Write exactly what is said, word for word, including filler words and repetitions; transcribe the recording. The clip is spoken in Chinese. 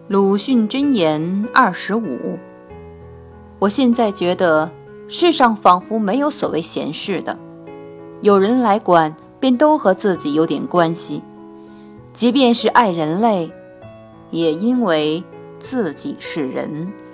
鲁迅箴言二十五。我现在觉得世上仿佛没有所谓闲事的，有人来管便都和自己有点关系，即便是爱人类，也因为自己是人。